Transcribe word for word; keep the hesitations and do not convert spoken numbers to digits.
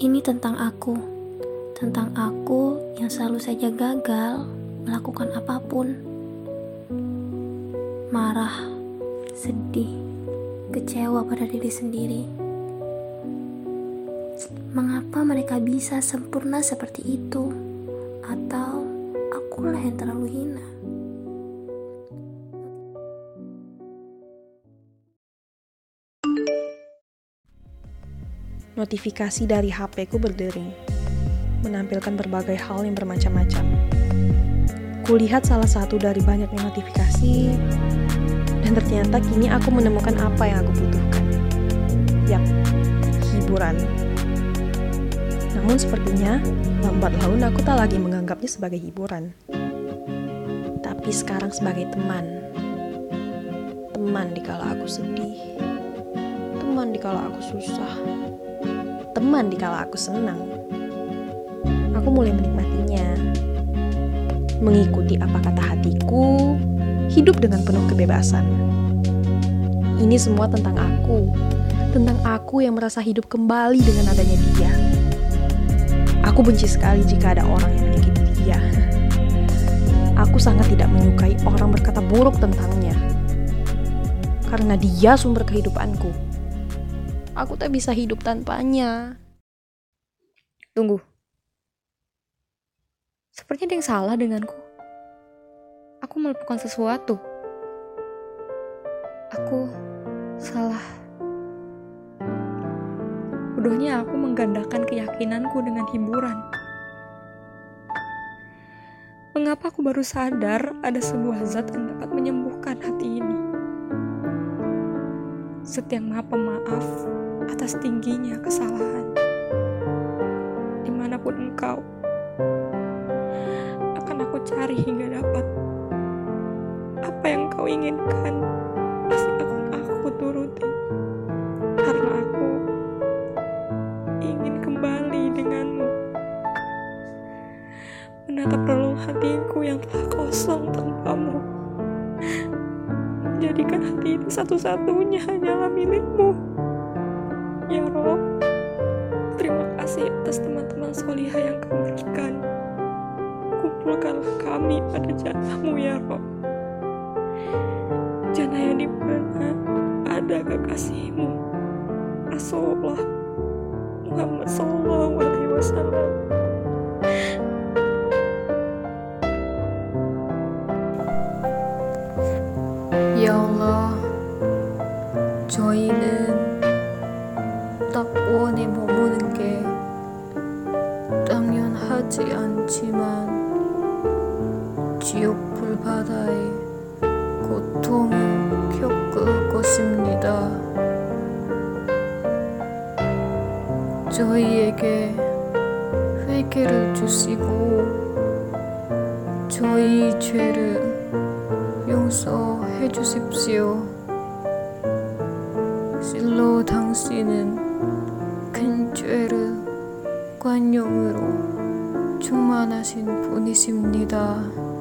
Ini tentang aku, tentang aku yang selalu saja gagal melakukan apapun. Marah, sedih, kecewa pada diri sendiri. Mengapa mereka bisa sempurna seperti itu? Atau akulah yang terlalu hina? Notifikasi dari H P-ku berdering, menampilkan berbagai hal yang bermacam-macam. Kulihat salah satu dari banyaknya notifikasi, dan ternyata kini aku menemukan apa yang aku butuhkan. Yap, hiburan. Namun sepertinya, lambat laun aku tak lagi menganggapnya sebagai hiburan. Tapi sekarang sebagai teman. Teman dikala aku sedih. Teman dikala aku susah. Teman dikala aku senang. Aku mulai menikmatinya, mengikuti apa kata hatiku, hidup dengan penuh kebebasan. Ini semua tentang aku, tentang aku yang merasa hidup kembali dengan adanya dia. Aku benci sekali jika ada orang yang menyakiti dia. Aku sangat tidak menyukai orang berkata buruk tentangnya, karena dia sumber kehidupanku. Aku tak bisa hidup tanpanya. Tunggu. Sepertinya ada yang salah denganku. Aku melakukan sesuatu. Aku salah. Bodohnya aku menggandakan keyakinanku dengan hiburan. Mengapa aku baru sadar ada sebuah zat yang dapat menyembuhkan hati ini? Setiap maha pemaaf atas tingginya kesalahan. Dimanapun engkau, akan aku cari hingga dapat. Apa yang kau inginkan, pasti akan aku turuti. Karena aku ingin kembali denganmu. Menatap relung hatiku yang telah kosong tanpamu. Menjadikan hati ini satu-satunya hanyalah milikmu. Ya Rob, terima kasih atas teman-teman solihah yang kau berikan. Kumpulkanlah kami pada jannahmu ya Rob. Jannah yang dimana ada kekasihmu, Rasulullah Muhammad Sallallahu Alaihi Wasallam. Ya Allah, 저희는 낙원에 머무는 게 당연하지 않지만 지옥 불바다의 고통을 겪을 것입니다. 저희에게 회개를 주시고 저희 죄를 용서해 주십시오. 실로 당신은 큰 죄를 관용으로 충만하신 분이십니다.